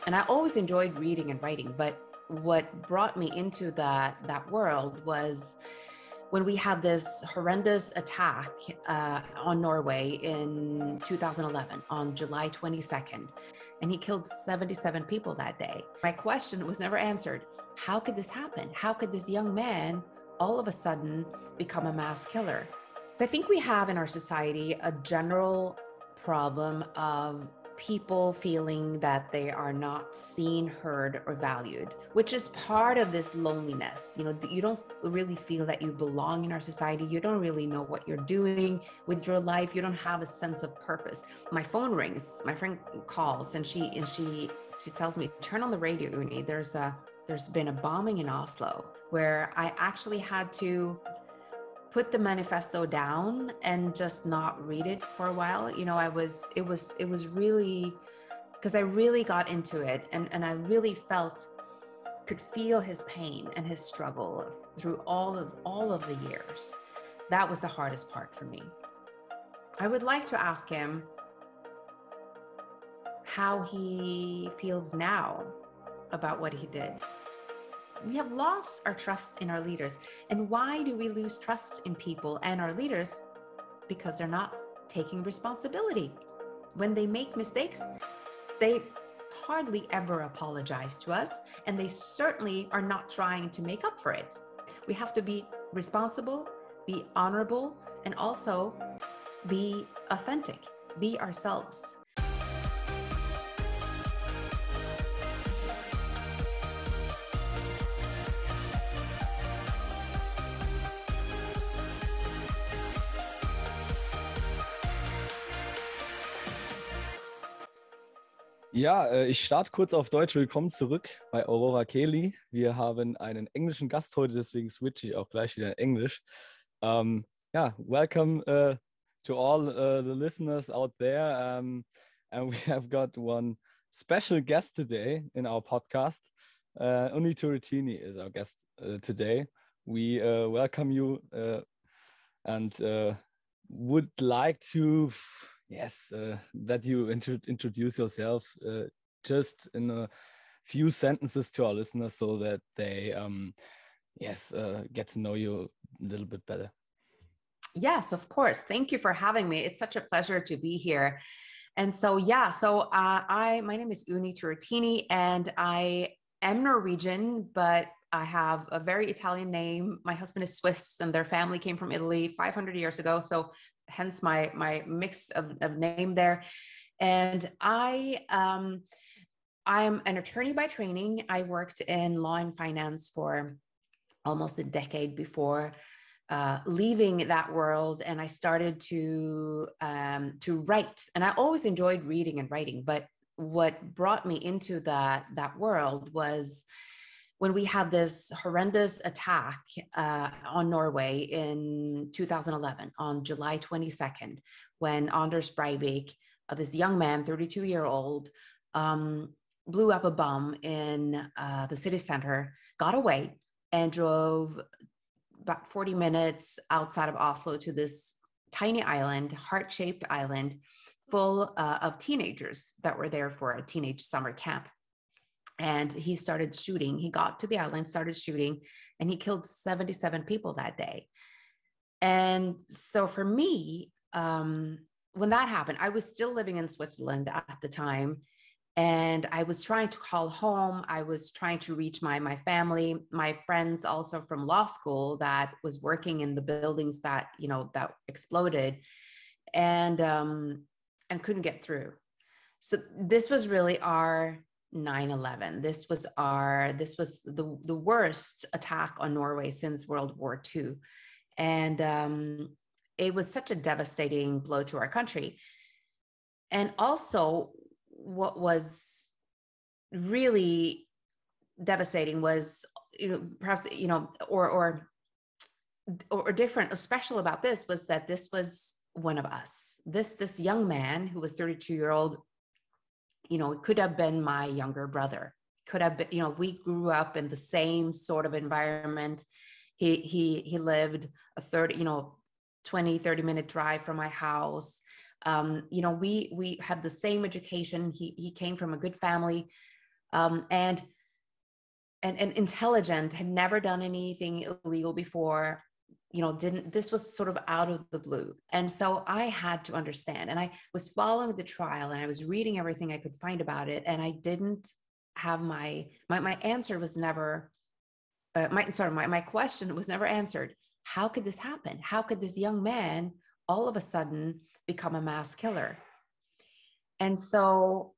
And I always enjoyed reading and writing, but what brought me into that world was when we had this horrendous attack on Norway in 2011 on July 22nd, and he killed 77 people that day. My question was never answered. How could this happen? How could this young man all of a sudden become a mass killer? So I think we have in our society a general problem of people feeling that they are not seen, heard, or valued, which is part of this loneliness. You know, you don't really feel that you belong in our society. You don't really know what you're doing with your life. You don't have a sense of purpose. My phone rings, my friend calls, and she tells me, turn on the radio, Uni. There's been a bombing in Oslo where I actually had to put the manifesto down and just not read it for a while. You know, it was really, because I really got into it and I really could feel his pain and his struggle through all of the years. That was the hardest part for me. I would like to ask him how he feels now about what he did. We have lost our trust in our leaders. And why do we lose trust in people and our leaders? Because they're not taking responsibility. When they make mistakes, they hardly ever apologize to us, and they certainly are not trying to make up for it. We have to be responsible, be honorable, and also be authentic, be ourselves. Ja, ich starte kurz auf Deutsch. Willkommen zurück bei Aurora Kelly. Wir haben einen englischen Gast heute, deswegen switche ich auch gleich wieder in Englisch. Yeah, welcome to all the listeners out there. And we have got one special guest today in our podcast. Uni Turretini is our guest today. We welcome you and would like to... Yes, that you introduce yourself just in a few sentences to our listeners so that they, get to know you a little bit better. Yes, of course. Thank you for having me. It's such a pleasure to be here. And so, my name is Uni Turretini, and I am Norwegian, but I have a very Italian name. My husband is Swiss, and their family came from Italy 500 years ago. So hence my mix of name there. And I'm an attorney by training. I worked in law and finance for almost a decade before leaving that world, and I started to write. And I always enjoyed reading and writing, but what brought me into that world was when we had this horrendous attack on Norway in 2011 on July 22nd, when Anders Breivik, this young man, 32-year-old, blew up a bomb in the city center, got away, and drove about 40 minutes outside of Oslo to this tiny island, heart-shaped island, full of teenagers that were there for a teenage summer camp. And he started shooting. He got to the island, started shooting, and he killed 77 people that day. And so for me, when that happened, I was still living in Switzerland at the time. And I was trying to call home. I was trying to reach my family, my friends also from law school that was working in the buildings that exploded, and couldn't get through. So this was really our 9/11. This was the worst attack on Norway since World War II. And it was such a devastating blow to our country. And also, what was really devastating was, perhaps, or different or special about this was that this was one of us. This young man who was 32-year-old, it could have been my younger brother. Could have been, we grew up in the same sort of environment. He lived a 20-30 minute drive from my house. We had the same education. He came from a good family, and intelligent, had never done anything illegal before, this was sort of out of the blue. And so I had to understand, and I was following the trial and I was reading everything I could find about it. And I didn't have my answer was never, my question was never answered. How could this happen? How could this young man all of a sudden become a mass killer? And so,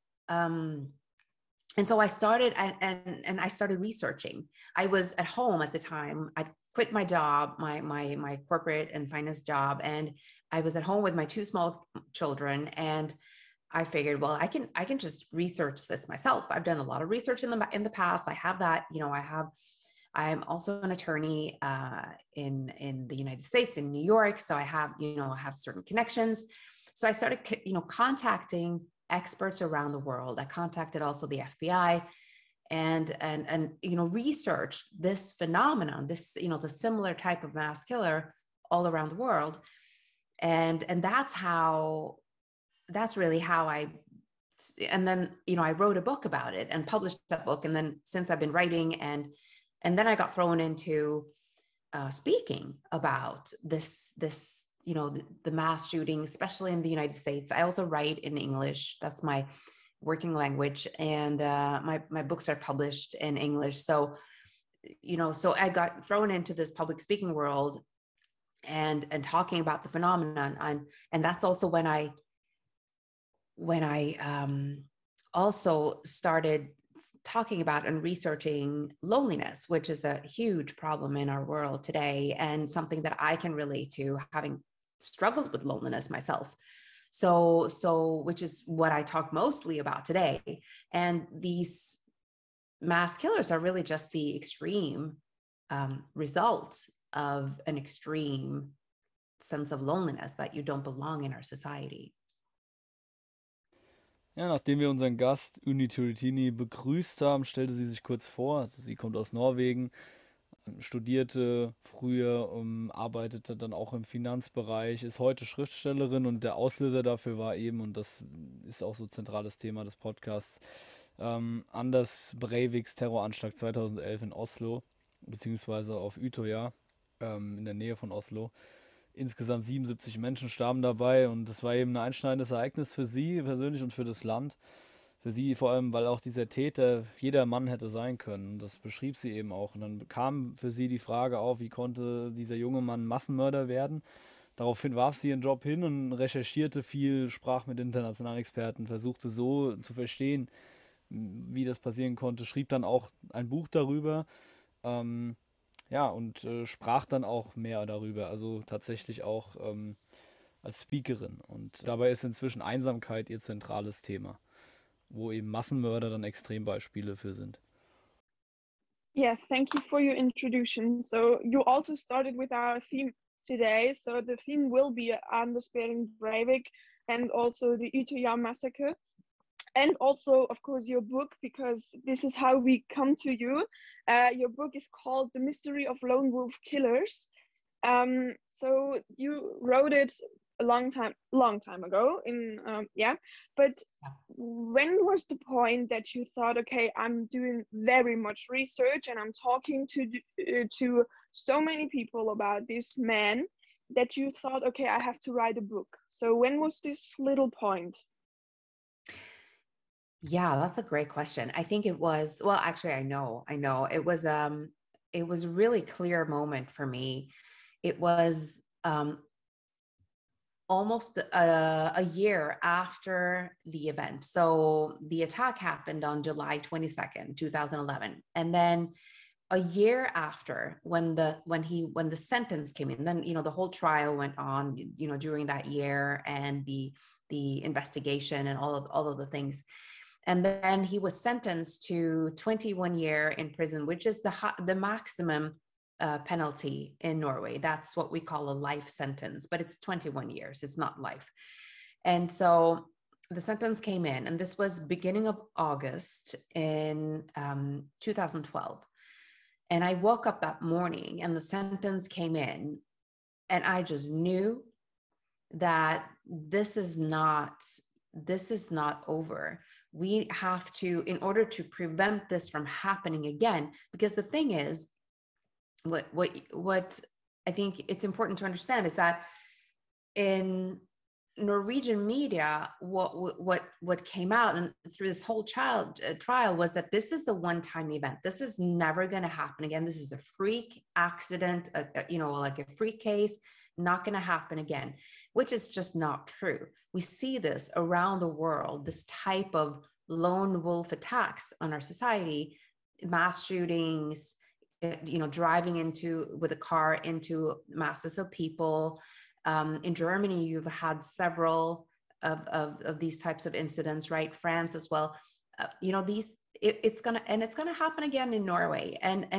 I started and I started researching. I was at home at the time. I quit my job, my corporate and finance job, and I was at home with my two small children. And I figured, well, I can just research this myself. I've done a lot of research in the past. I have that. I'm also an attorney in the United States, in New York. So I have certain connections. So I started contacting experts around the world. I contacted also the FBI and researched this phenomenon, this, the similar type of mass killer all around the world. And that's really how I wrote a book about it and published that book. And then since I've been writing and then I got thrown into speaking about this, the mass shooting, especially in the United States. I also write in English. That's my working language. And my books are published in English. So, so I got thrown into this public speaking world and talking about the phenomenon. And that's also when I also started talking about and researching loneliness, which is a huge problem in our world today, and something that I can relate to, having struggled with loneliness myself. So which is what I talk mostly about today. And these mass killers are really just the extreme result of an extreme sense of loneliness, that you don't belong in our society. Ja, nachdem wir unseren Gast Uni Turutini begrüßt haben, stellte sie sich kurz vor. Also sie kommt aus Norwegen, studierte früher, arbeitete dann auch im Finanzbereich, ist heute Schriftstellerin, und der Auslöser dafür war eben, und das ist auch so zentrales Thema des Podcasts, Anders Breiviks Terroranschlag 2011 in Oslo, beziehungsweise auf Utøya, in der Nähe von Oslo. Insgesamt 77 Menschen starben dabei, und das war eben ein einschneidendes Ereignis für sie persönlich und für das Land. Für sie vor allem, weil auch dieser Täter jeder Mann hätte sein können. Und das beschrieb sie eben auch. Und dann kam für sie die Frage auf, wie konnte dieser junge Mann Massenmörder werden? Daraufhin warf sie ihren Job hin und recherchierte viel, sprach mit internationalen Experten, versuchte so zu verstehen, wie das passieren konnte, schrieb dann auch ein Buch darüber. Ja, und sprach dann auch mehr darüber, also tatsächlich auch als Speakerin. Und dabei ist inzwischen Einsamkeit ihr zentrales Thema, wo eben Massenmörder dann Extrembeispiele für sind. Yeah, thank you for your introduction. So you also started with our theme today. So the theme will be Anders Behring Breivik and also the Utøya massacre. And also, of course, your book, because this is how we come to you. Your book is called The Mystery of Lone Wolf Killers. So you wrote it a long time ago but when was the point that you thought, okay, I'm doing very much research and I'm talking to so many people about this man, that you thought, okay, I have to write a book? So when was this little point? Yeah, that's a great question. I think it was, well, actually, I know it was a really clear moment for me. It was almost a year after the event. So the attack happened on July 22nd, 2011. And then a year after, when the sentence came in, then, the whole trial went on, during that year, and the investigation and all of the things. And then he was sentenced to 21 years in prison, which is the maximum penalty in Norway. That's what we call a life sentence, but it's 21 years. It's not life. And so the sentence came in, and this was beginning of August in 2012. And I woke up that morning and the sentence came in, and I just knew that this is not over. we have to, in order to prevent this from happening again, because the thing is, what I think it's important to understand is that in Norwegian media, what came out and through this whole trial was that this is the one-time event. This is never going to happen again. This is a freak accident, like a freak case, not going to happen again, which is just not true. We see this around the world, this type of lone wolf attacks on our society, mass shootings, driving with a car into masses of people. In Germany, you've had several of these types of incidents, right? France as well. It's gonna happen again in Norway.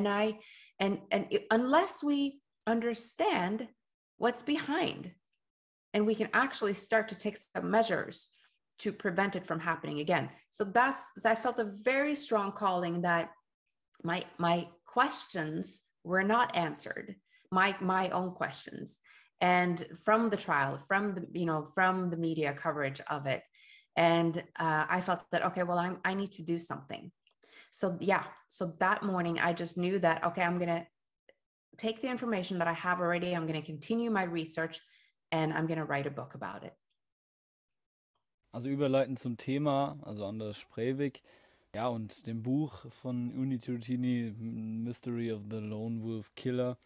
Unless we understand what's behind, and we can actually start to take some measures to prevent it from happening again. So I felt a very strong calling that my questions were not answered, my own questions. And from the trial, from the media coverage of it, and I felt that, okay, well, I need to do something. So that morning, I just knew that, okay, I'm gonna take the information that I have already, I'm gonna continue my research, and I'm gonna write a book about it. Also überleitend zum Thema, also Anders Breivik, ja, und dem Buch von Uni Turutini, Mystery of the Lone Wolf Killer,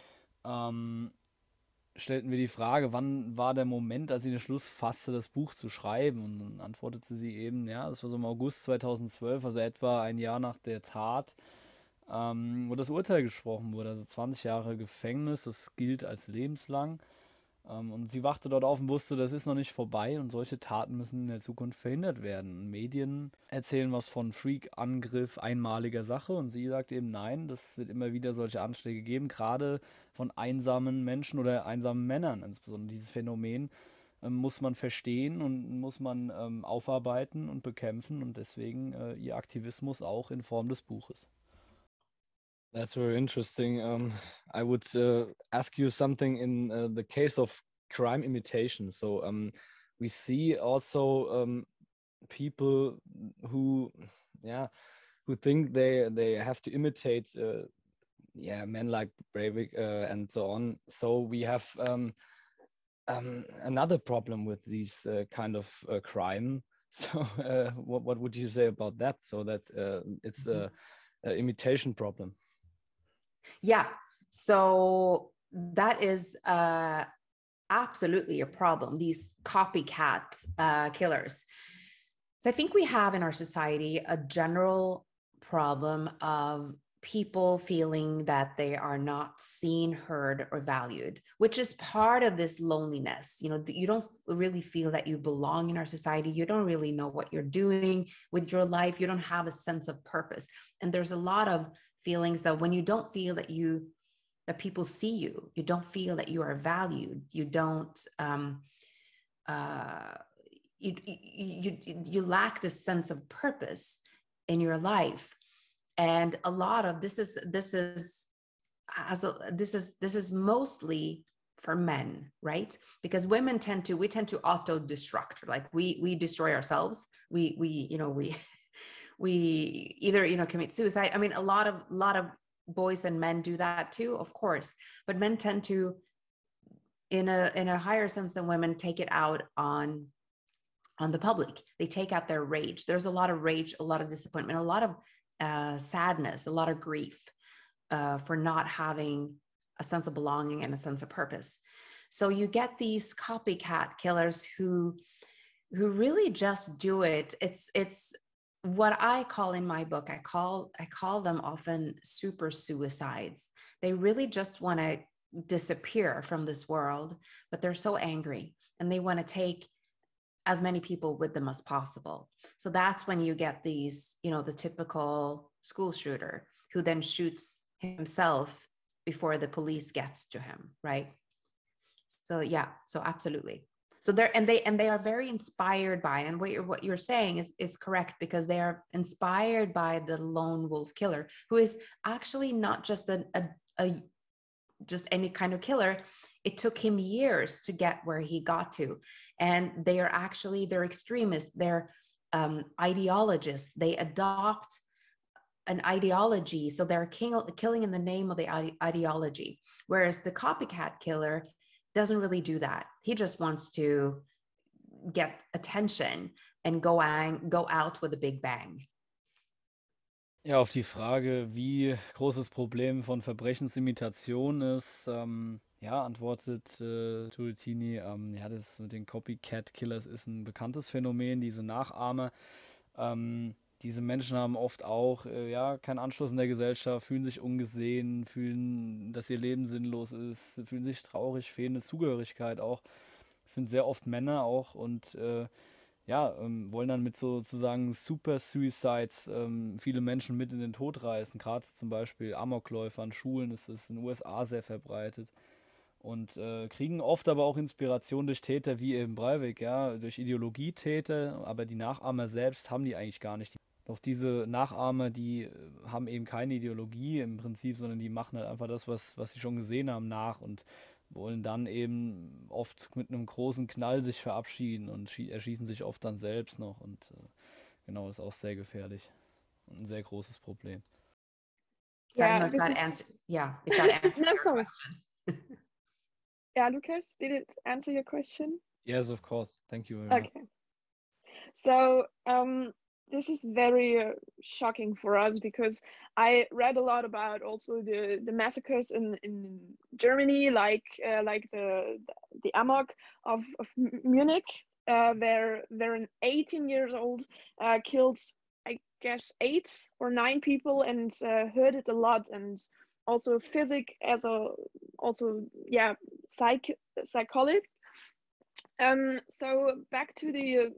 stellten wir die Frage, wann war der Moment, als sie den Schluss fasste, das Buch zu schreiben? Und dann antwortete sie eben, ja, das war so im August 2012, also etwa ein Jahr nach der Tat, wo das Urteil gesprochen wurde, also 20 Jahre Gefängnis, das gilt als lebenslang. Und sie wachte dort auf und wusste, das ist noch nicht vorbei und solche Taten müssen in der Zukunft verhindert werden. Medien erzählen was von Freak-Angriff, einmaliger Sache, und sie sagt eben, nein, das wird immer wieder solche Anschläge geben, gerade von einsamen Menschen oder einsamen Männern. Insbesondere dieses Phänomen muss man verstehen und muss man aufarbeiten und bekämpfen, und deswegen ihr Aktivismus auch in Form des Buches. That's very interesting. I would ask you something in the case of crime imitation. So we see also people who think they have to imitate men like Breivik and so on. So we have another problem with these kind of crime. So what would you say about that? So that it's a imitation problem. Yeah, so that is absolutely a problem, these copycat killers. So I think we have in our society a general problem of people feeling that they are not seen, heard, or valued, which is part of this loneliness. You don't really feel that you belong in our society. You don't really know what you're doing with your life. You don't have a sense of purpose. And there's a lot of feelings that when you don't feel that people see you, you don't feel that you are valued, you don't, you lack this sense of purpose in your life. And a lot of this is mostly for men, right? Because women tend to auto-destruct, like we destroy ourselves. We either commit suicide. I mean, a lot of boys and men do that too, of course, but men tend to, in a higher sense than women, take it out on the public. They take out their rage. There's a lot of rage, a lot of disappointment, a lot of sadness, a lot of grief for not having a sense of belonging and a sense of purpose. So you get these copycat killers who really just do it. It's what I call in my book, I call them often super suicides. They really just want to disappear from this world, but they're so angry and they want to take as many people with them as possible. So that's when you get these, the typical school shooter who then shoots himself before the police gets to him, right? So yeah, so absolutely. So they are very inspired by, and what you're saying is correct, because they are inspired by the lone wolf killer, who is actually not just just any kind of killer. It took him years to get where he got to, and they're extremists. ideologists. They adopt an ideology, so they're killing in the name of the ideology. Whereas the copycat killer doesn't really do that. He just wants to get attention and go out with a big bang. Ja, auf die Frage, wie groß das Problem von Verbrechensimitation ist, ja, antwortet Turretini, ja, das mit den Copycat-Killers ist ein bekanntes Phänomen, diese Nachahmer. Diese Menschen haben oft auch ja, keinen Anschluss in der Gesellschaft, fühlen sich ungesehen, fühlen, dass ihr Leben sinnlos ist, fühlen sich traurig, fehlende Zugehörigkeit auch. Es sind sehr oft Männer auch und ja, wollen dann mit sozusagen Super Suicides viele Menschen mit in den Tod reißen. Gerade zum Beispiel Amokläufer an Schulen ist es in den USA sehr verbreitet. Und kriegen oft aber auch Inspiration durch Täter wie eben Breivik, ja, durch Ideologietäter, aber die Nachahmer selbst haben die eigentlich gar nicht. Doch diese Nachahmer, die haben eben keine Ideologie im Prinzip, sondern die machen halt einfach das, was sie schon gesehen haben, nach und wollen dann eben oft mit einem großen Knall sich verabschieden und erschießen sich oft dann selbst noch. Und genau, ist auch sehr gefährlich und ein sehr großes Problem. I don't know if that answers No, your sorry. question. Yeah, Lucas, did it answer your question? Yes, of course. Thank you very much. Okay. So this is very shocking for us because I read a lot about also the massacres in Germany, like the Amok of Munich, where an 18 years old killed, I guess, 8 or 9 people and hurted a lot, and also as a also yeah psychology. So back to the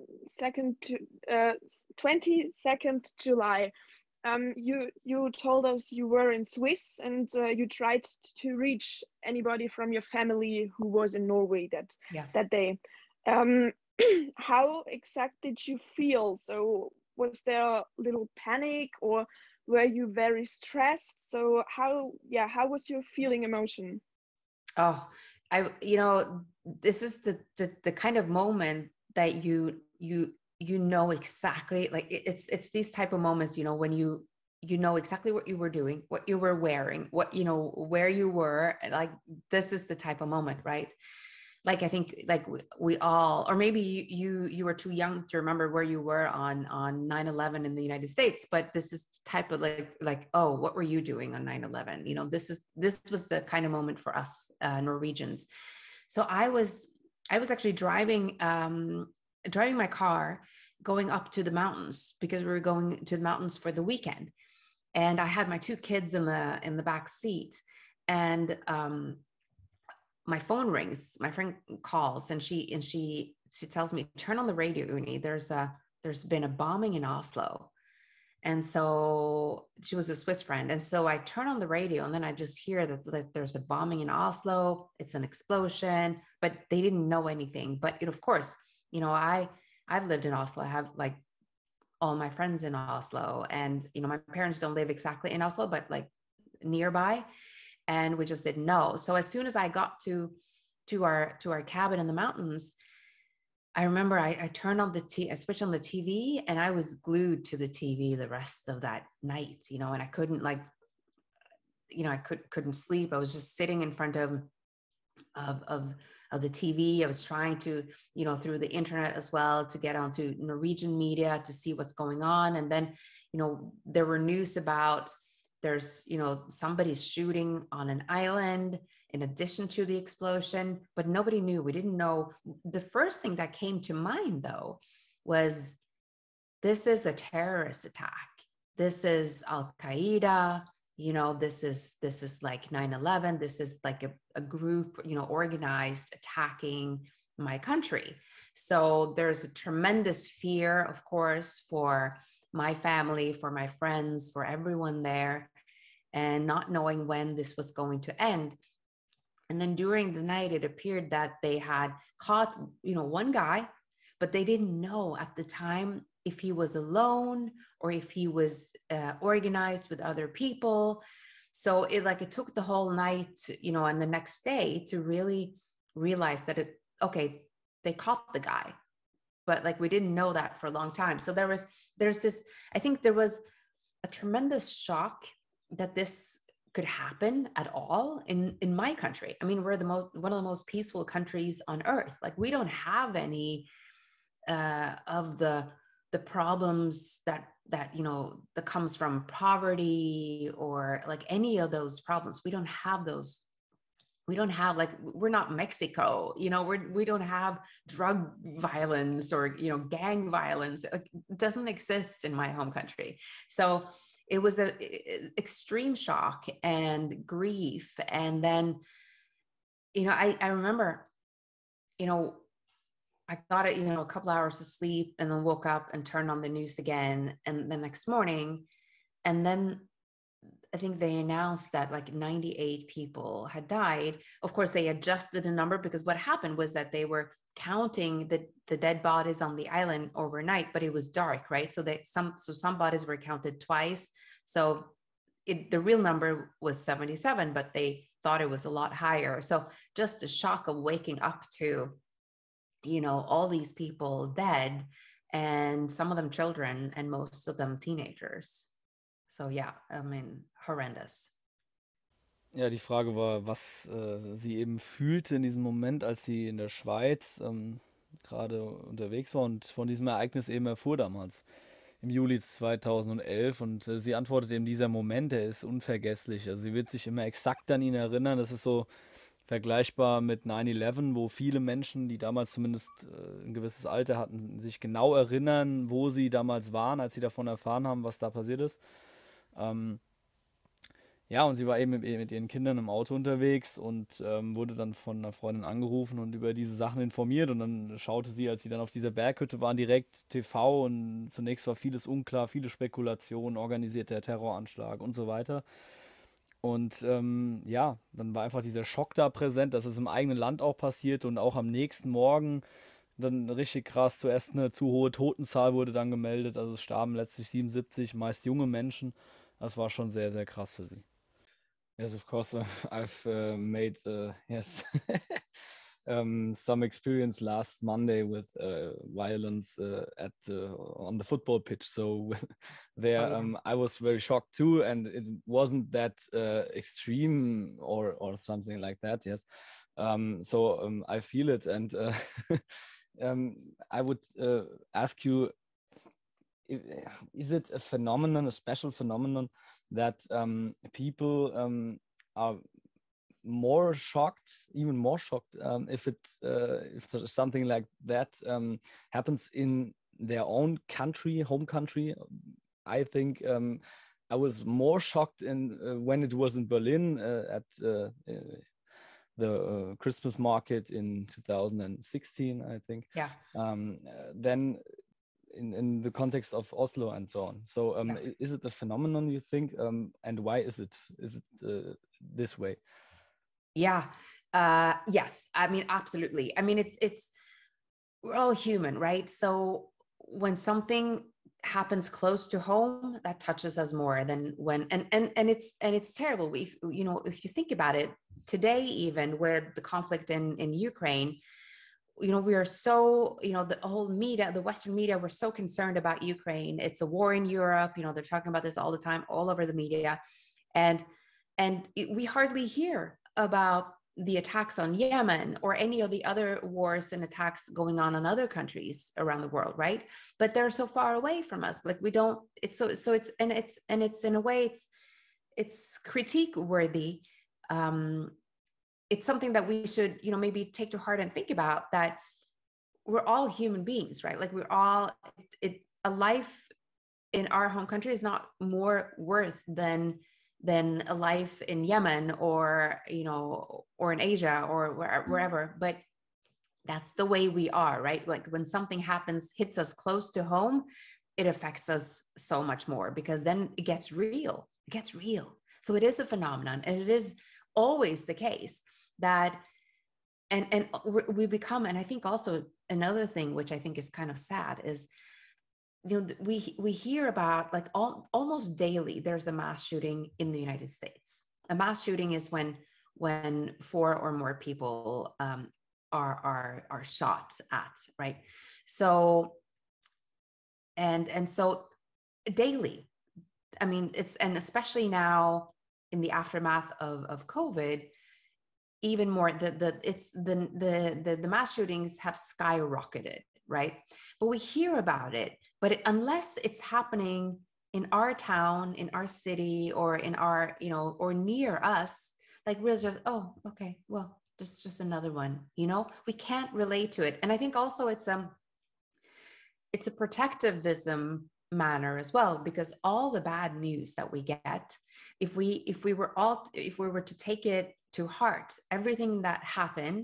22nd July. You told us you were in Swiss and you tried to reach anybody from your family who was in Norway that day. How exactly did you feel? So was there a little panic or were you very stressed? So how was your feeling emotion? Oh, this is the kind of moment that you know exactly, like it's these type of moments, when you know exactly what you were doing, what you were wearing, what, where you were, like this is the type of moment, right? Like, I think like we all, or maybe you were too young to remember where you were on 9/11 in the United States, but this is type of like, oh, what were you doing on 9/11? This was the kind of moment for us Norwegians. So I was actually driving my car going up to the mountains because we were going to the mountains for the weekend, and I had my 2 kids in the back seat, and my phone rings, my friend calls, and she tells me, turn on the radio, Uni, there's been a bombing in Oslo. And so she was a Swiss friend. And so I turn on the radio, and then I just hear that there's a bombing in Oslo. It's an explosion, but they didn't know anything. But of course, I've lived in Oslo. I have like all my friends in Oslo, and my parents don't live exactly in Oslo, but like nearby. And we just didn't know. So as soon as I got to our cabin in the mountains, I remember I turned on I switched on the TV, and I was glued to the TV the rest of that night, and I couldn't I couldn't sleep. I was just sitting in front of the TV. I was trying to, through the internet as well, to get onto Norwegian media to see what's going on. And then, there were news about there's, somebody's shooting on an island in addition to the explosion, but nobody knew. We didn't know. The first thing that came to mind, though, was this is a terrorist attack. This is Al-Qaeda. This is like 9/11. This is like a group, organized attacking my country. So there's a tremendous fear, of course, for my family, for my friends, for everyone there, and not knowing when this was going to end. And then during the night, it appeared that they had caught, one guy, but they didn't know at the time if he was alone or if he was organized with other people. So it took the whole night, and the next day to really realize that they caught the guy, but like we didn't know that for a long time. So there's this, I think there was a tremendous shock that this could happen at all in my country. I mean, we're one of the most peaceful countries on earth. Like we don't have any of the problems that that comes from poverty or like any of those problems. We don't have those. We don't have, like, we're not Mexico, we don't have drug violence or gang violence. It doesn't exist in my home country. So it was a extreme shock and grief. And then I remember I got it, a couple hours of sleep and then woke up and turned on the news again. And the next morning, and then I think they announced that like 98 people had died. Of course, they adjusted the number because what happened was that they were counting the dead bodies on the island overnight, but it was dark, right? So some bodies were counted twice. So the real number was 77, but they thought it was a lot higher. So just the shock of waking up to all these people dead, and some of them children and most of them teenagers. So yeah, I mean, horrendous. Ja, die Frage war, was sie eben fühlte in diesem Moment, als sie in der Schweiz gerade unterwegs war und von diesem Ereignis eben erfuhr damals im Juli 2011. Und sie antwortet eben, dieser Moment, der ist unvergesslich. Also sie wird sich immer exakt an ihn erinnern. Das ist so vergleichbar mit 9/11, wo viele Menschen, die damals zumindest ein gewisses Alter hatten, sich genau erinnern, wo sie damals waren, als sie davon erfahren haben, was da passiert ist. Ja, und sie war eben mit ihren Kindern im Auto unterwegs und wurde dann von einer Freundin angerufen und über diese Sachen informiert. Und dann schaute sie, als sie dann auf dieser Berghütte waren, direkt TV, und zunächst war vieles unklar, viele Spekulationen, organisierter Terroranschlag und so weiter. Und ja, dann war einfach dieser Schock da präsent, dass es im eigenen Land auch passiert, und auch am nächsten Morgen dann richtig krass. Zuerst eine zu hohe Totenzahl wurde dann gemeldet, also es starben letztlich 77, meist junge Menschen. Das war schon sehr, sehr krass für sie. Yes, of course, I've made yes some experience last Monday with violence on the football pitch. So there, Oh, yeah. I was very shocked too, and it wasn't that extreme or something like that. Yes, so I feel it, and I would ask you, is it a phenomenon, a special phenomenon, that people are more shocked, even more shocked, if there's something like that happens in their own country, home country? I think I was more shocked when it was in Berlin at the Christmas market in 2016, I think. Yeah. Then in the context of Oslo and so on. So Yeah. is it a phenomenon, you think, and why is it this way? Yeah. Yes. I mean, absolutely. I mean, it's we're all human, right? So when something happens close to home, that touches us more than when and it's terrible. If you think about it today, even where the conflict in Ukraine, we are so, the whole media, the Western media, we're so concerned about Ukraine. It's a war in Europe. They're talking about this all the time, all over the media. And we hardly hear about the attacks on Yemen or any of the other wars and attacks going on in other countries around the world, right? But they're so far away from us. Like we don't, it's so it's in a way, it's critique worthy. It's something that we should, maybe take to heart and think about, that we're all human beings, right? Like we're all, a life in our home country is not more worth than a life in Yemen or, or in Asia or wherever. But that's the way we are, right? Like when something hits us close to home, it affects us so much more, because then it gets real. So it is a phenomenon, and it is always the case that and we become, and I think also another thing which I think is kind of sad is, we hear about, like, almost daily there's a mass shooting in the United States. A mass shooting is when 4 or more people are shot at, right? So and so daily, I mean, and especially now in the aftermath of COVID, even more, the mass shootings have skyrocketed, right? But we hear about it, but unless it's happening in our town, in our city, or in our, or near us, like we're just, oh, okay, well, just another one, we can't relate to it. And I think also it's a protectivism manner as well, because all the bad news that we get, if we were to take it to heart, everything that happened,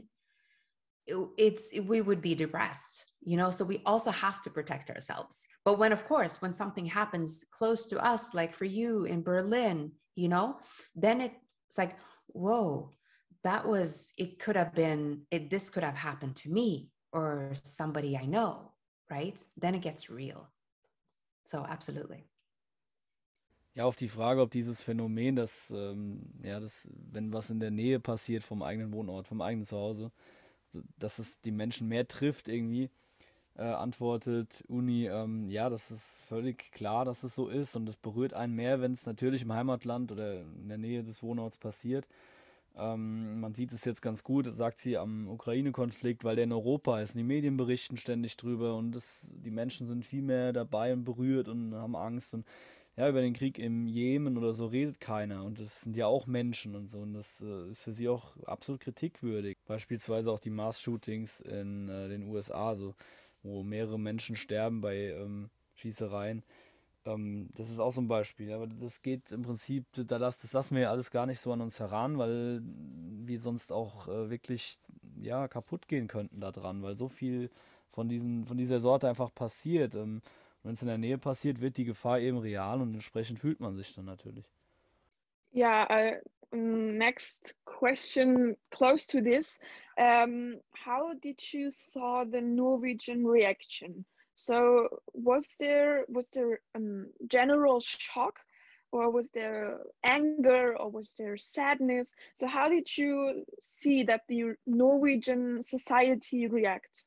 we would be depressed, so we also have to protect ourselves. But when something happens close to us, like for you in Berlin, then it's like, whoa, this could have happened to me or somebody I know, right? Then it gets real. So absolutely. Ja, auf die Frage, ob dieses Phänomen, wenn was in der Nähe passiert vom eigenen Wohnort, vom eigenen Zuhause, dass es die Menschen mehr trifft irgendwie, antwortet Uni, ja, das ist völlig klar, dass es so ist und es berührt einen mehr, wenn es natürlich im Heimatland oder in der Nähe des Wohnorts passiert. Man sieht es jetzt ganz gut, sagt sie, am Ukraine-Konflikt, weil der in Europa ist. Und die Medien berichten ständig drüber und die Menschen sind viel mehr dabei und berührt und haben Angst. Und ja, über den Krieg im Jemen oder so redet keiner. Und das sind ja auch Menschen und so. Und das ist für sie auch absolut kritikwürdig. Beispielsweise auch die Mass-Shootings in den USA, so, wo mehrere Menschen sterben bei Schießereien. Das ist auch so ein Beispiel, aber das geht im Prinzip, das lassen wir alles gar nicht so an uns heran, weil wir sonst auch wirklich ja, kaputt gehen könnten daran, weil so viel von dieser Sorte einfach passiert. Wenn es in der Nähe passiert, wird die Gefahr eben real und entsprechend fühlt man sich dann natürlich. Yeah, next question close to this. How did you saw the Norwegian reaction? So was there general shock, or was there anger, or was there sadness? So how did you see that the Norwegian society react?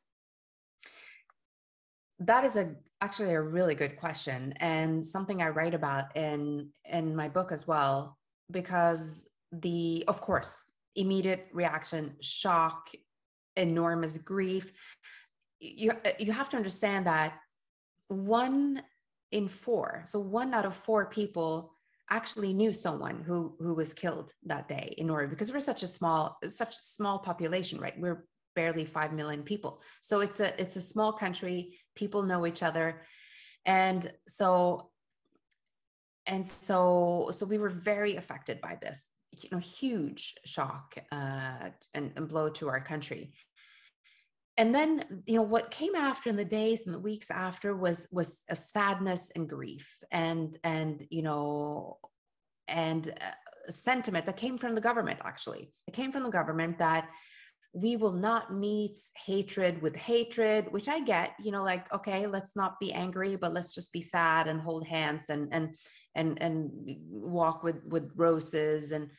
That is actually a really good question, and something I write about in my book as well, because of course, immediate reaction, shock, enormous grief. You have to understand that 1 in 4, so 1 out of 4 people actually knew someone who was killed that day in Norway, because we're such a small population, right? We're barely 5 million people. So it's a small country, people know each other. And so we were very affected by this, huge shock and blow to our country. And then, what came after in the days and the weeks after was a sadness and grief and sentiment that came from the government. Actually, it came from the government that we will not meet hatred with hatred, which I get, like, okay, let's not be angry, but let's just be sad and hold hands and walk with roses and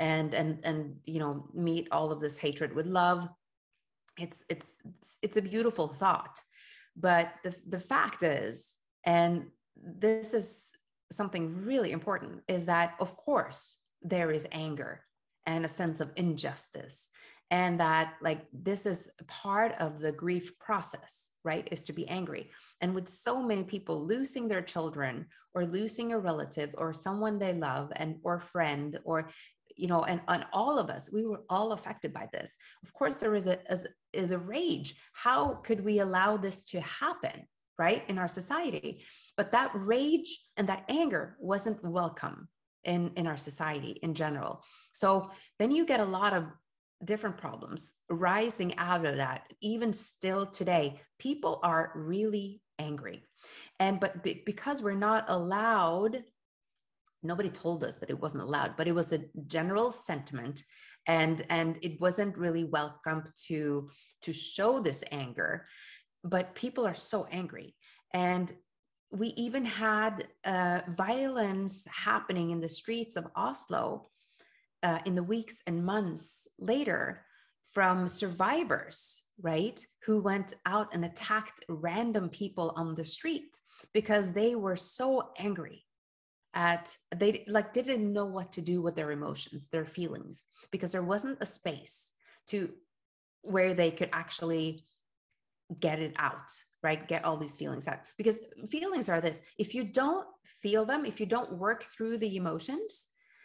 meet all of this hatred with love. It's a beautiful thought, but the fact is, and this is something really important, is that of course there is anger and a sense of injustice, and that like this is part of the grief process, right? Is to be angry. And with so many people losing their children or losing a relative or someone they love or friend, or and all of us, we were all affected by this. Of course, there is a rage. How could we allow this to happen, right, in our society? But that rage and that anger wasn't welcome in our society in general. So then you get a lot of different problems rising out of that. Even still today, people are really angry. But because we're not allowed, nobody told us that it wasn't allowed, but it was a general sentiment, and it wasn't really welcome to show this anger. But people are so angry, and we even had violence happening in the streets of Oslo in the weeks and months later from survivors, right, who went out and attacked random people on the street because they were so angry they didn't know what to do with their emotions, their feelings, because there wasn't a space to where they could actually get it out, right? Get all these feelings out. Because feelings are this: if you don't feel them, if you don't work through the emotions,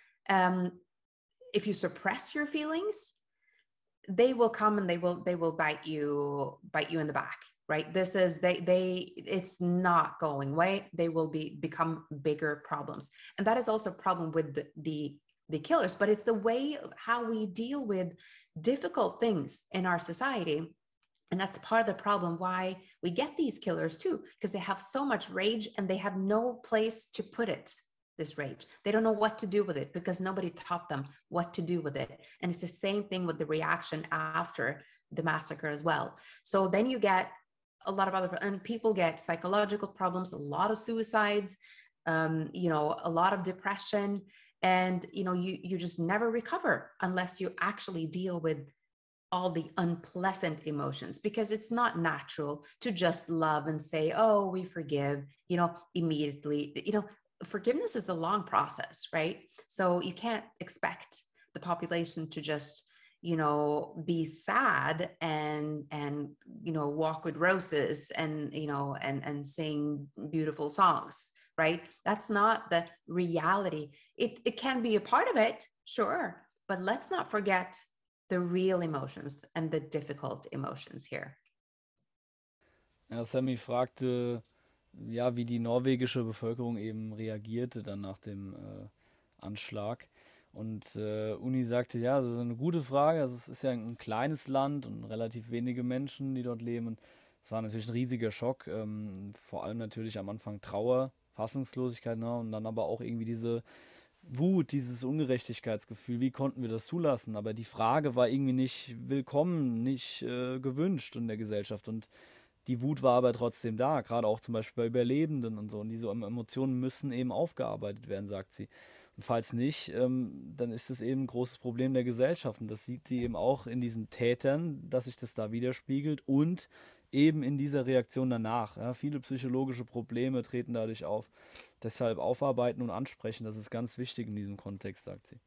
if you suppress your feelings, they will come and they will bite you in the back, right? This is it's not going away. They will become bigger problems. And that is also a problem with the killers, but it's the way of how we deal with difficult things in our society. And that's part of the problem why we get these killers too, because they have so much rage and they have no place to put it, this rage. They don't know what to do with it because nobody taught them what to do with it. And it's the same thing with the reaction after the massacre as well. So then you get a lot of other, and people get psychological problems, a lot of suicides, a lot of depression, and you just never recover unless you actually deal with all the unpleasant emotions, because it's not natural to just love and say, oh, we forgive, immediately. Forgiveness is a long process, right? So you can't expect the population to just, be sad and walk with roses and, and sing beautiful songs, right? That's not the reality. It can be a part of it, sure, but let's not forget the real emotions and the difficult emotions here. Ja, Sammy fragte, ja, wie die norwegische Bevölkerung eben reagierte dann nach dem Anschlag. Und Uni sagte, ja, das ist eine gute Frage. Also es ist ja ein kleines Land und relativ wenige Menschen, die dort leben. Und es war natürlich ein riesiger Schock. Vor allem natürlich am Anfang Trauer, Fassungslosigkeit, ne? Und dann aber auch irgendwie diese Wut, dieses Ungerechtigkeitsgefühl. Wie konnten wir das zulassen? Aber die Frage war irgendwie nicht willkommen, nicht gewünscht in der Gesellschaft. Und die Wut war aber trotzdem da, gerade auch zum Beispiel bei Überlebenden und so. Und diese Emotionen müssen eben aufgearbeitet werden, sagt sie. Und falls nicht, dann ist es eben ein großes Problem der Gesellschaft. Und das sieht sie eben auch in diesen Tätern, dass sich das da widerspiegelt und eben in dieser Reaktion danach. Ja, viele psychologische Probleme treten dadurch auf. Deshalb aufarbeiten und ansprechen, das ist ganz wichtig in diesem Kontext, sagt sie.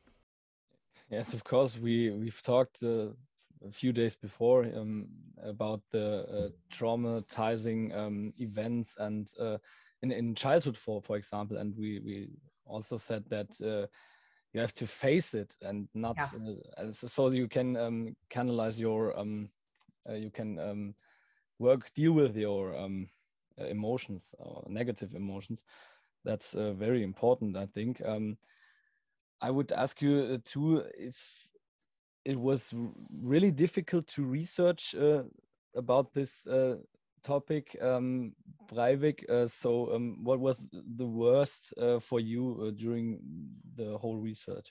Yes, of course, we've talked a few days before about the traumatizing events and in childhood, for example, and we also said that you have to face it and not so you can canalize your you can deal with your emotions or negative emotions. That's very important, I think. I would ask you too if it was really difficult to research about this topic, Breivik. So what was the worst for you during the whole research?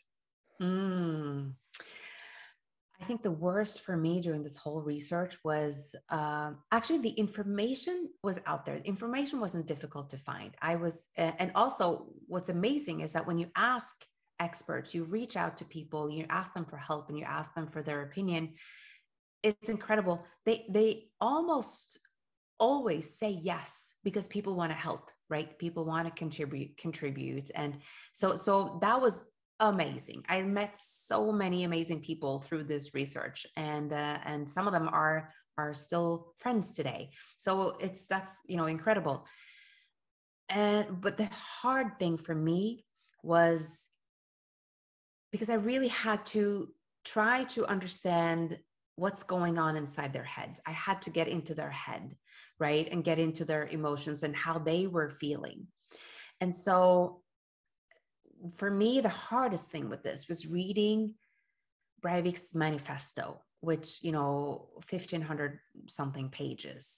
I think the worst for me during this whole research was actually the information was out there. The information wasn't difficult to find. And also what's amazing is that when you ask experts, you reach out to people, you ask them for help and you ask them for their opinion, it's incredible. They almost always say yes because people want to help, right? People want to contribute. And so that was amazing. I met so many amazing people through this research, and some of them are still friends today. So that's incredible. But the hard thing for me was because I really had to try to understand what's going on inside their heads. I had to get into their head, right? And get into their emotions and how they were feeling. And so for me, the hardest thing with this was reading Breivik's manifesto, which, 1,500 something pages.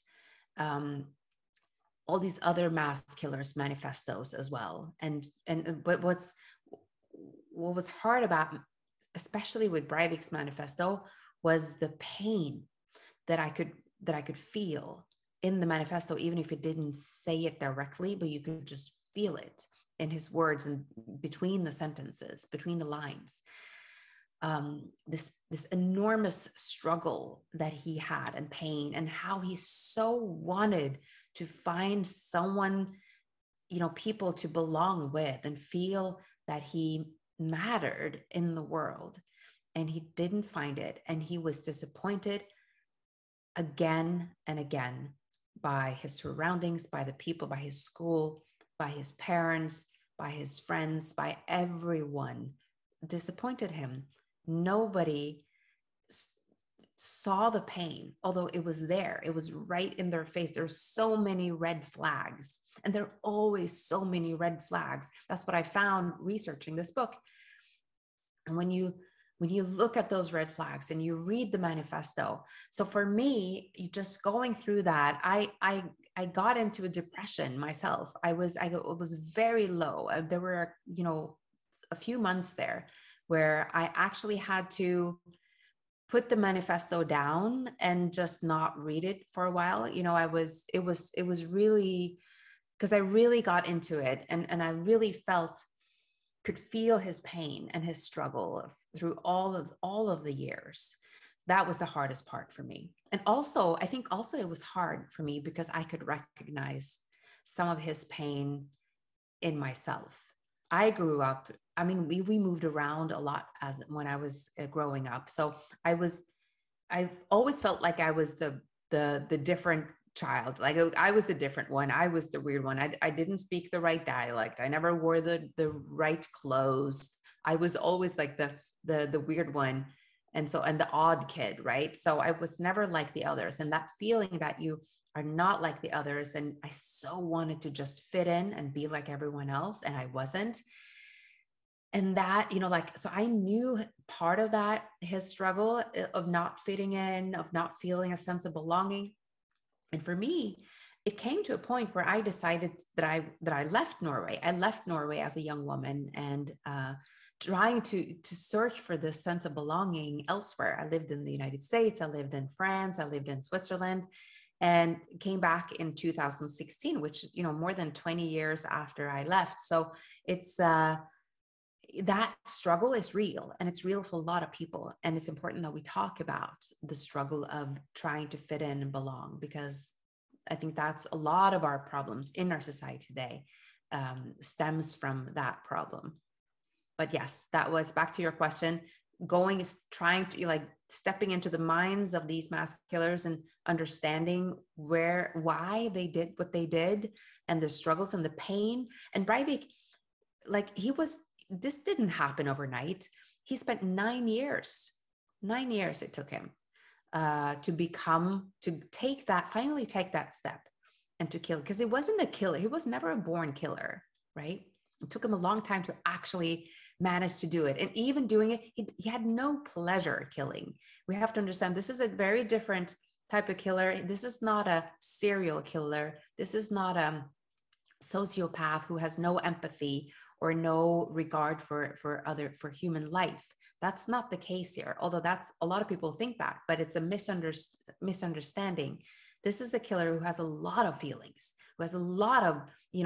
All these other mass killers' manifestos as well. But what was hard about, especially with Breivik's manifesto, was the pain that I could feel in the manifesto, even if it didn't say it directly, but you could just feel it in his words and between the sentences, between the lines. this enormous struggle that he had and pain, and how he so wanted to find someone, people to belong with and feel that he mattered in the world. And he didn't find it. And he was disappointed again and again by his surroundings, by the people, by his school, by his parents, by his friends, by everyone. Disappointed him. Nobody saw the pain, although it was there. It was right in their face. There's so many red flags, and there are always so many red flags. That's what I found researching this book. And when you look at those red flags and you read the manifesto, so for me, just going through that, I got into a depression myself. I was very low. There were a few months there where I actually had to put the manifesto down and just not read it for a while. It was really, because I really got into it, and I really could feel his pain and his struggle through all of the years. That was the hardest part for me. And also, I think also it was hard for me because I could recognize some of his pain in myself. I grew up, we moved around a lot when I was growing up. So I've always felt like I was the different child. Like I was the different one. I was the weird one. I didn't speak the right dialect. I never wore the right clothes. I was always like the weird one. And the odd kid, right? So I was never like the others. And that feeling that you are not like the others. And I so wanted to just fit in and be like everyone else. And I wasn't. And that, so I knew part of that, his struggle of not fitting in, of not feeling a sense of belonging. And for me, it came to a point where I decided that I left Norway. I left Norway as a young woman, and trying to search for this sense of belonging elsewhere. I lived in the United States, I lived in France, I lived in Switzerland, and came back in 2016, which, more than 20 years after I left. So it's, that struggle is real, and it's real for a lot of people. And it's important that we talk about the struggle of trying to fit in and belong, because I think that's a lot of our problems in our society today, stems from that problem. But yes, that was, back to your question, trying to stepping into the minds of these mass killers and understanding why they did what they did, and the struggles and the pain. And Breivik, this didn't happen overnight. He spent 9 years. 9 years it took him to finally take that step and to kill, because it wasn't a killer. He was never a born killer, right? It took him a long time to actually manage to do it. And even doing it, he had no pleasure killing. We have to understand this is a very different type of killer. This is not a serial killer. This is not a sociopath who has no empathy or no regard for human life. That's not the case here, although a lot of people think that, but it's a misunderstanding. This is a killer who has a lot of feelings, who has a lot of,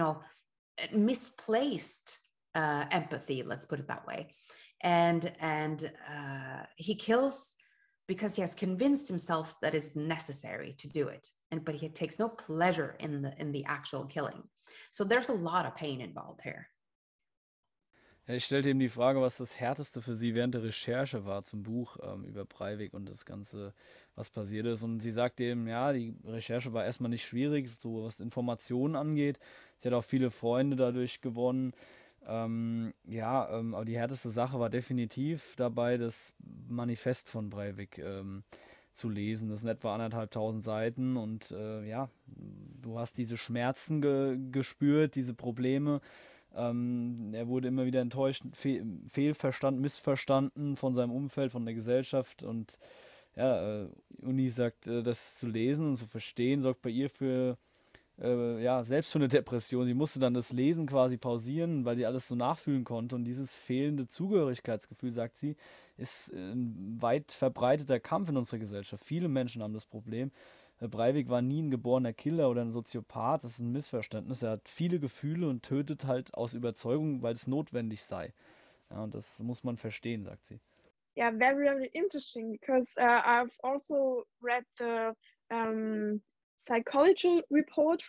misplaced empathy, let's put it that way. And he kills because he has convinced himself that it's necessary to do it. But he takes no pleasure in the actual killing. So there's a lot of pain involved here. Ja, ich stellte ihm die Frage, was das Härteste für sie während der Recherche war zum Buch über Breivik und das Ganze, was passiert ist. Und sie sagte ihm, ja, die Recherche war erstmal nicht schwierig, so was Informationen angeht. Sie hat auch viele Freunde dadurch gewonnen. Aber die härteste Sache war definitiv dabei, das Manifest von Breivik zu lesen. Das sind etwa 1500 Seiten und du hast diese Schmerzen gespürt, diese Probleme. Er wurde immer wieder enttäuscht, fehlverstanden, missverstanden von seinem Umfeld, von der Gesellschaft. Und Uni sagt, das zu lesen und zu verstehen, sorgt bei ihr für selbst für eine Depression. Sie musste dann das Lesen quasi pausieren, weil sie alles so nachfühlen konnte. Und dieses fehlende Zugehörigkeitsgefühl, sagt sie, ist ein weit verbreiteter Kampf in unserer Gesellschaft. Viele Menschen haben das Problem. Breivik war nie ein geborener Killer oder ein Soziopath. Das ist ein Missverständnis. Er hat viele Gefühle und tötet halt aus Überzeugung, weil es notwendig sei. Ja, und das muss man verstehen, sagt sie. yeah, very, very interesting, because I've also read the psychological report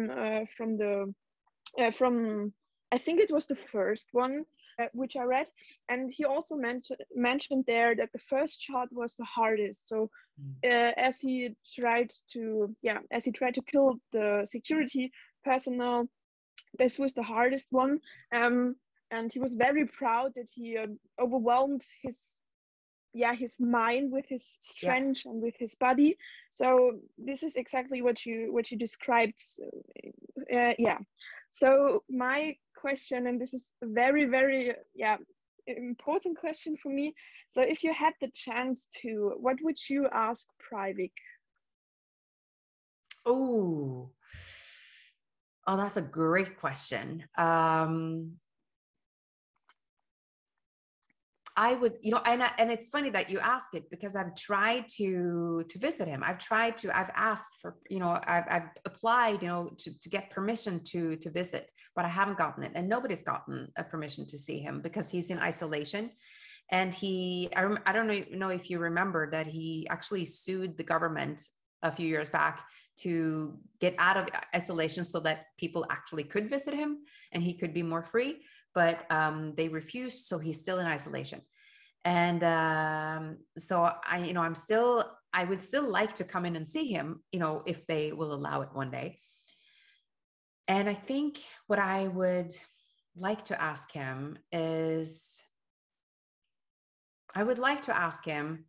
from I think it was the first one which I read, and he also mentioned there that the first shot was the hardest. So as he tried to kill the security personnel, this was the hardest one. And he was very proud that he overwhelmed his mind with his Yeah. strength and with his body. So this is exactly what you described. Yeah. So my question, and this is a very, very important question for me. So if you had the chance to, what would you ask Breivik? Oh, that's a great question. I would, and it's funny that you ask it, because I've tried to visit him. I've asked for, I've applied, to get permission to visit, but I haven't gotten it, and nobody's gotten a permission to see him because he's in isolation. And I don't know if you remember that he actually sued the government a few years back to get out of isolation so that people actually could visit him and he could be more free. But they refused, so he's still in isolation. And so I would still like to come in and see him, if they will allow it one day. And I think what I would like to ask him is, I would like to ask him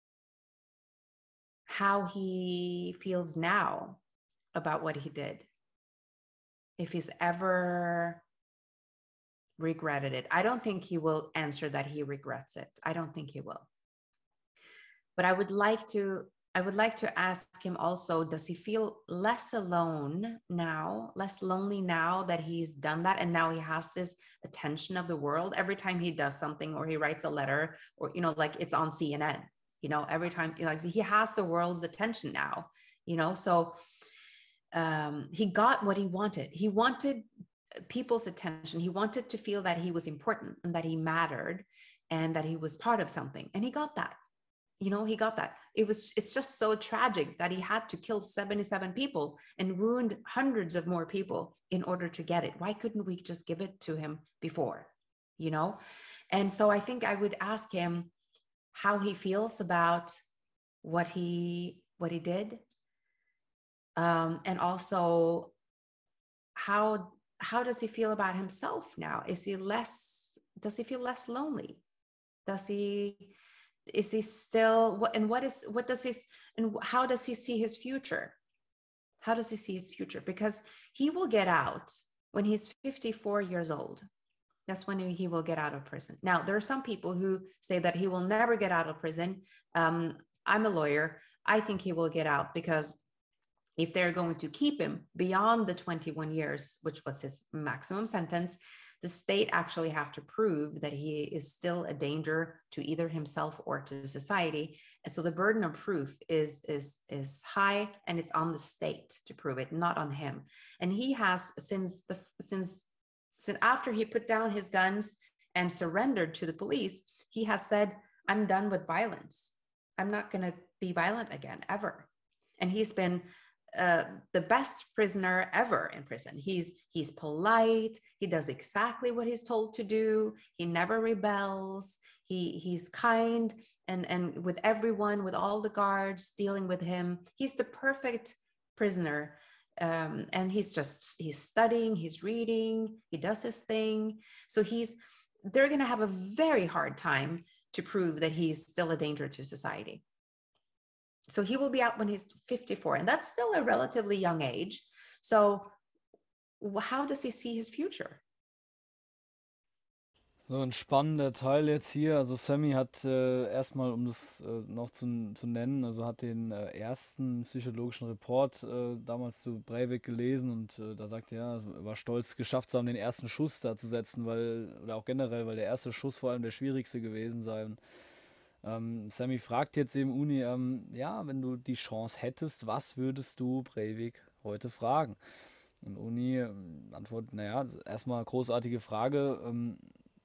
how he feels now about what he did. If he's ever regretted it. I don't think he will answer that he regrets it. I don't think he will. But I would like to ask him also, does he feel less alone now, less lonely now that he's done that, and now he has this attention of the world every time he does something, or he writes a letter, or like it's on CNN, every time, like he has the world's attention now, so he got what he wanted. He wanted people's attention. He wanted to feel that he was important and that he mattered and that he was part of something. And he got that. He got that. It's just so tragic that he had to kill 77 people and wound hundreds of more people in order to get it. Why couldn't we just give it to him before? And so I think I would ask him how he feels about what he did. And also how does he feel about himself now? Does he feel less lonely? Is he still, and how does he see his future? How does he see his future? Because he will get out when he's 54 years old. That's when he will get out of prison. Now, there are some people who say that he will never get out of prison. I'm a lawyer. I think he will get out, because if they're going to keep him beyond the 21 years, which was his maximum sentence, the state actually have to prove that he is still a danger to either himself or to society. And so the burden of proof is high, and it's on the state to prove it, not on him. And he has, since after he put down his guns and surrendered to the police, he has said, I'm done with violence. I'm not going to be violent again, ever. And he's been the best prisoner ever in prison. He's polite. He does exactly what he's told to do. He never rebels. He's kind and with everyone, with all the guards dealing with him. He's the perfect prisoner. And he's studying, he's reading, he does his thing. So they're going to have a very hard time to prove that he's still a danger to society. So he will be out when he's 54, and that's still a relatively young age. So how does he see his future? So ein spannender Teil jetzt hier. Also Sammy hat erstmal, um das noch zu nennen, also hat den ersten psychologischen Report damals zu Breivik gelesen, und da sagt er war stolz, geschafft zu haben, den ersten Schuss da zu setzen, oder auch generell, weil der erste Schuss vor allem der schwierigste gewesen sei. Und Sammy fragt jetzt eben Uni, wenn du die Chance hättest, was würdest du Breivik heute fragen? Und Uni antwortet, erstmal großartige Frage,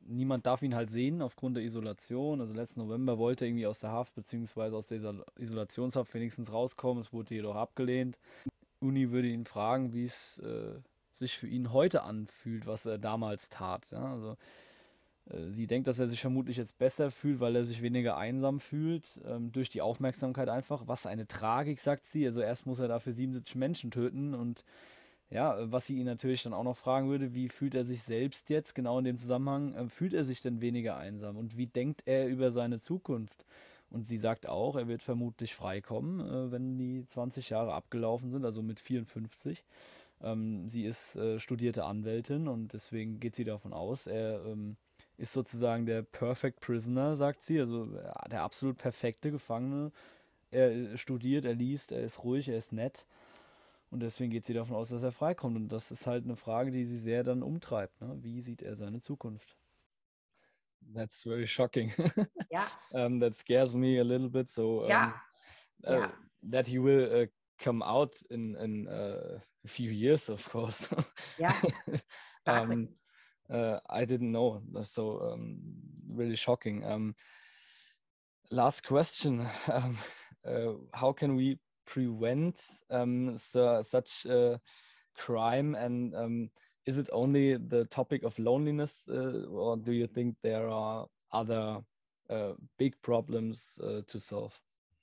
niemand darf ihn halt sehen aufgrund der Isolation. Also letzten November wollte er irgendwie aus der Haft beziehungsweise aus der Isolationshaft wenigstens rauskommen. Es wurde jedoch abgelehnt. Uni würde ihn fragen, wie es sich für ihn heute anfühlt, was er damals tat. Ja? Also sie denkt, dass er sich vermutlich jetzt besser fühlt, weil er sich weniger einsam fühlt, durch die Aufmerksamkeit einfach. Was eine Tragik, sagt sie. Also erst muss er dafür 77 Menschen töten und ja, was sie ihn natürlich dann auch noch fragen würde, wie fühlt er sich selbst jetzt, genau in dem Zusammenhang, fühlt er sich denn weniger einsam und wie denkt er über seine Zukunft? Und sie sagt auch, er wird vermutlich freikommen, wenn die 20 Jahre abgelaufen sind, also mit 54. Sie ist studierte Anwältin und deswegen geht sie davon aus, er ist sozusagen der Perfect Prisoner, sagt sie, also der absolut perfekte Gefangene. Er studiert, er liest, er ist ruhig, er ist nett. Und deswegen geht sie davon aus, dass er freikommt. Und das ist halt eine Frage, die sie sehr dann umtreibt. Ne? Wie sieht er seine Zukunft? That's very shocking. Yeah. That scares me a little bit. So Yeah. Yeah. that he will come out in a few years, of course. Yeah. Exactly. I didn't know. So really shocking. Last question. How can we prevent such crime, and is it only the topic of loneliness, or do you think there are other big problems to solve?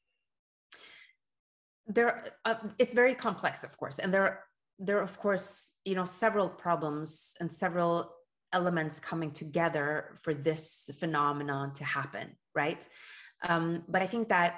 It's very complex, of course, and there are, of course, several problems and several elements coming together for this phenomenon to happen, right? But I think that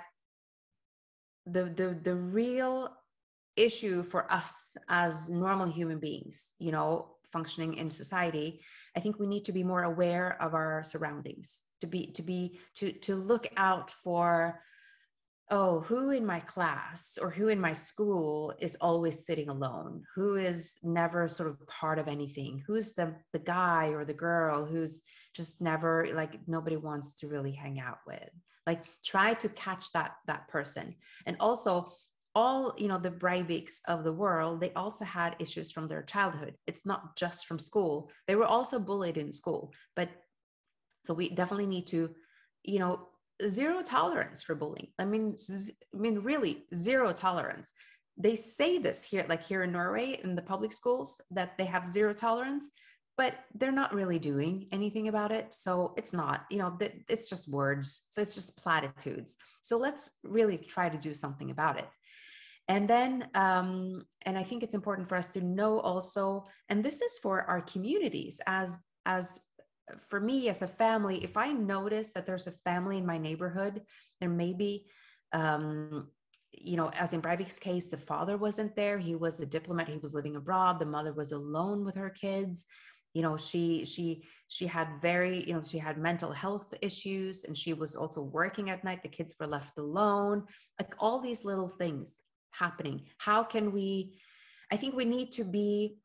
the real issue for us as normal human beings, functioning in society, I think we need to be more aware of our surroundings, to look out for, oh, who in my class or who in my school is always sitting alone, who is never sort of part of anything, who's the guy or the girl who's just never, like, nobody wants to really hang out with. Like, try to catch that person. And also, all the Breiviks of the world, they also had issues from their childhood. It's not just from school. They were also bullied in school. But so we definitely need to, zero tolerance for bullying. I mean, really zero tolerance. They say this here, like here in Norway, in the public schools, that they have zero tolerance, but they're not really doing anything about it. So it's not, it's just words. So it's just platitudes. So let's really try to do something about it. And then, and I think it's important for us to know also, and this is for our communities, as for me as a family, if I notice that there's a family in my neighborhood, there may be, as in Breivik's case, the father wasn't there. He was a diplomat. He was living abroad. The mother was alone with her kids. She had she had mental health issues, and she was also working at night. The kids were left alone, like all these little things happening. How can I think we need to be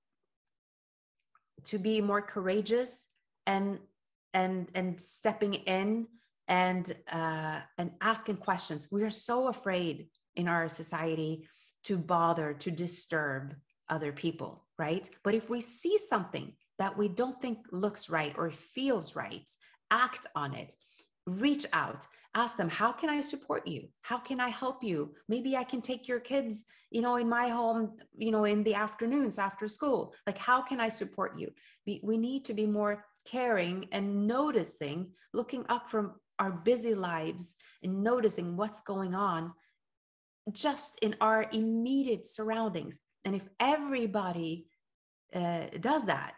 more courageous and stepping in and asking questions. We are so afraid in our society to bother, to disturb other people, right? But if we see something that we don't think looks right or feels right, act on it, reach out, ask them, how can I support you? How can I help you? Maybe I can take your kids, in my home, in the afternoons after school. Like, how can I support you? We need to be more caring and noticing, looking up from our busy lives and noticing what's going on just in our immediate surroundings. And if everybody does that,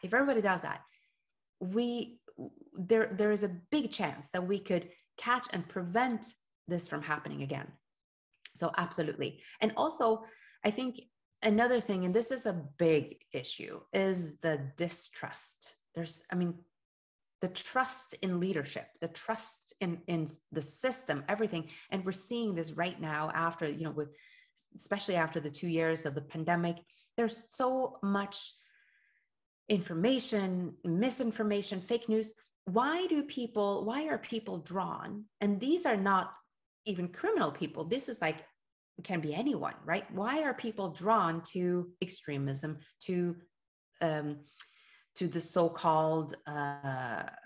there is a big chance that we could catch and prevent this from happening again. So absolutely. And also, I think another thing, and this is a big issue, is the distrust. The trust in leadership, the trust in the system, everything. And we're seeing this right now after, especially after the 2 years of the pandemic. There's so much information, misinformation, fake news. Why are people drawn? And these are not even criminal people. This is like, it can be anyone, right? Why are people drawn to extremism, to the so-called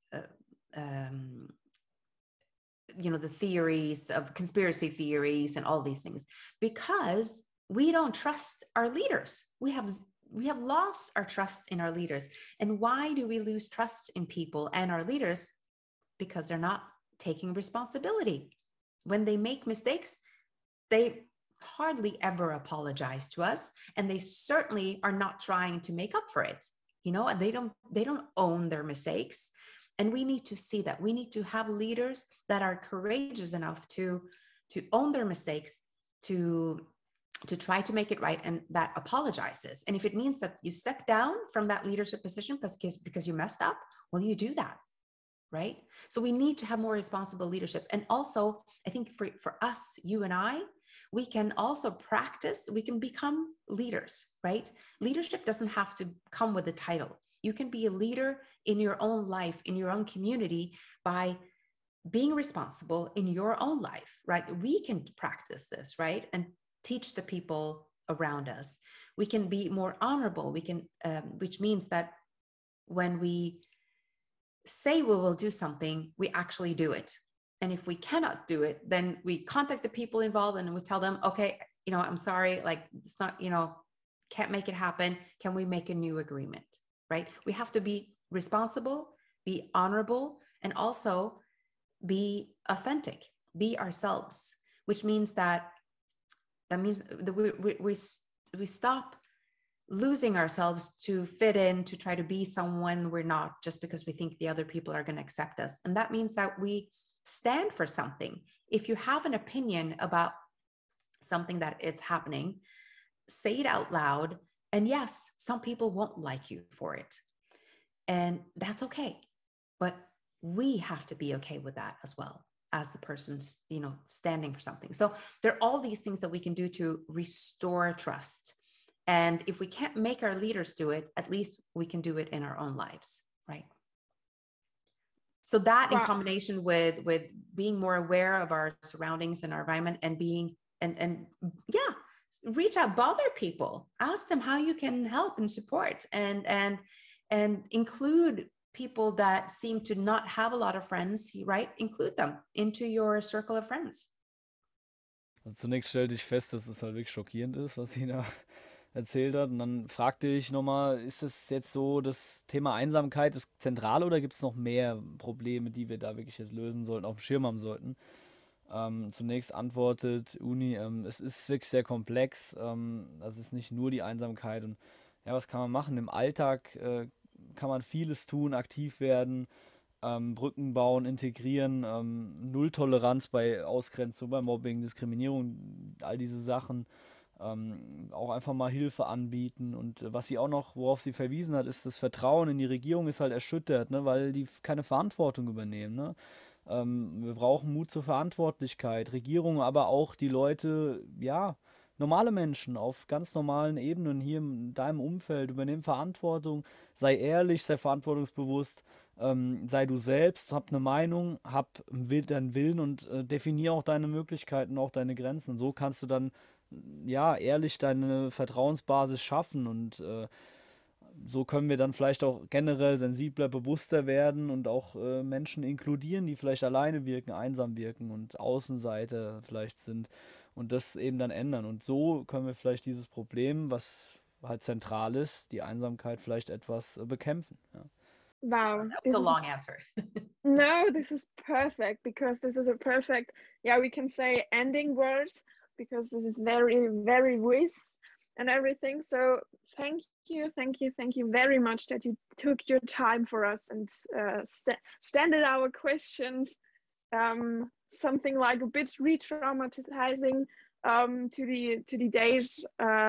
the theories of conspiracy theories and all these things, because we don't trust our leaders. We have lost our trust in our leaders. And why do we lose trust in people and our leaders? Because they're not taking responsibility. When they make mistakes, they hardly ever apologize to us, and they certainly are not trying to make up for it. And they don't own their mistakes. And we need to see that. We need to have leaders that are courageous enough to own their mistakes, to try to make it right, and that apologizes. And if it means that you step down from that leadership position because you messed up, well, you do that, right? So we need to have more responsible leadership. And also, I think for us, you and I, we can also practice, we can become leaders, right? Leadership doesn't have to come with a title. You can be a leader in your own life, in your own community, by being responsible in your own life, right? We can practice this, right? And teach the people around us. We can be more honorable. We can, which means that when we say we will do something, we actually do it. And if we cannot do it, then we contact the people involved and we tell them, okay, I'm sorry, like it's not, can't make it happen. Can we make a new agreement, right? We have to be responsible, be honorable, and also be authentic, be ourselves, which means that means that we stop losing ourselves to fit in, to try to be someone we're not, just because we think the other people are going to accept us. And that means that we stand for something. If you have an opinion about something that it's happening, say it out loud. And yes, some people won't like you for it. And that's okay. But we have to be okay with that as well, as the person's, standing for something. So there are all these things that we can do to restore trust. And if we can't make our leaders do it, at least we can do it in our own lives, right? So that in combination with being more aware of our surroundings and our environment, and being, and reach out, bother people, ask them how you can help and support, and include people that seem to not have a lot of friends, right? Include them into your circle of friends. Also zunächst stellte ich fest, dass es halt wirklich schockierend ist, was sie da erzählt hat. Und dann fragte ich nochmal, ist es jetzt so, das Thema Einsamkeit das Zentrale, oder gibt es noch mehr Probleme, die wir da wirklich jetzt lösen sollten, auf dem Schirm haben sollten? Zunächst antwortet Uni, es ist wirklich sehr komplex. Das ist nicht nur die Einsamkeit. Und ja, was kann man machen? Im Alltag kann man vieles tun, aktiv werden, Brücken bauen, integrieren, Nulltoleranz bei Ausgrenzung, bei Mobbing, Diskriminierung, all diese Sachen. Auch einfach mal Hilfe anbieten. Und was sie auch noch, worauf sie verwiesen hat, ist, das Vertrauen in die Regierung ist halt erschüttert, ne, weil die keine Verantwortung übernehmen. Ne? Wir brauchen Mut zur Verantwortlichkeit. Regierung, aber auch die Leute, ja, normale Menschen auf ganz normalen Ebenen hier in deinem Umfeld, übernehmen Verantwortung, sei ehrlich, sei verantwortungsbewusst, sei du selbst, hab eine Meinung, hab deinen Willen und definier auch deine Möglichkeiten, auch deine Grenzen. Und so kannst du dann ja ehrlich deine Vertrauensbasis schaffen, und so können wir dann vielleicht auch generell sensibler, bewusster werden und auch Menschen inkludieren, die vielleicht alleine wirken, einsam wirken und Außenseiter vielleicht sind, und das eben dann ändern. Und so können wir vielleicht dieses Problem, was halt zentral ist, die Einsamkeit, vielleicht etwas bekämpfen. Ja. Wow. That was a long answer. No, this is perfect, because this is a perfect, we can say ending words, because this is very, very wise and everything. So thank you very much that you took your time for us and standard our questions, something like a bit re-traumatizing to the days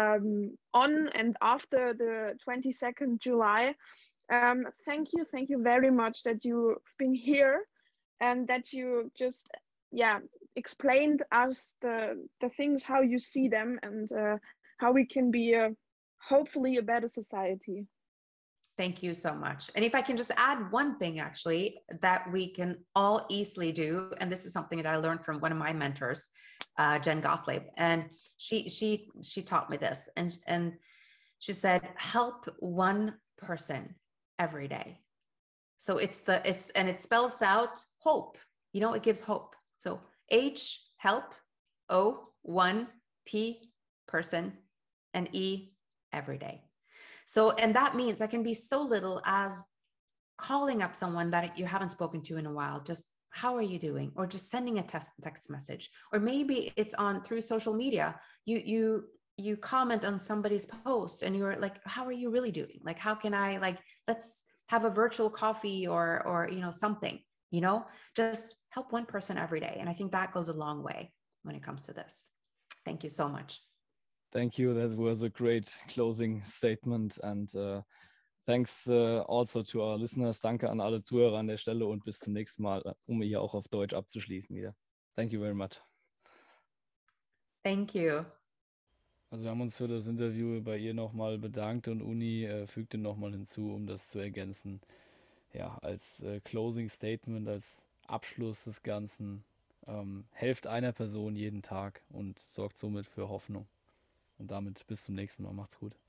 on and after the 22nd July. Thank you very much that you've been here and that you just explained us the things, how you see them, and how we can be hopefully a better society. Thank you so much. And if I can just add one thing, actually, that we can all easily do, and this is something that I learned from one of my mentors, Jen Gottlieb, and she taught me this, and she said, help one person every day. So and it spells out hope. It gives hope. So H, help, O, one, P, person, and E, every day. So, and that means that can be so little as calling up someone that you haven't spoken to in a while, just how are you doing? Or just sending a text message. Or maybe it's on through social media. You comment on somebody's post and you're like, how are you really doing? Like, how can I, like, let's have a virtual coffee or something, just help one person every day. And I think that goes a long way when it comes to this. Thank you so much. Thank you. That was a great closing statement. And thanks also to our listeners. Danke an alle Zuhörer an der Stelle und bis zum nächsten Mal, um hier auch auf Deutsch abzuschließen wieder. Thank you very much. Thank you. Also wir haben uns für das Interview bei ihr nochmal bedankt und Uni fügte nochmal hinzu, um das zu ergänzen. Ja, als Closing Statement, als Abschluss des Ganzen, helft einer Person jeden Tag und sorgt somit für Hoffnung. Und damit bis zum nächsten Mal. Macht's gut.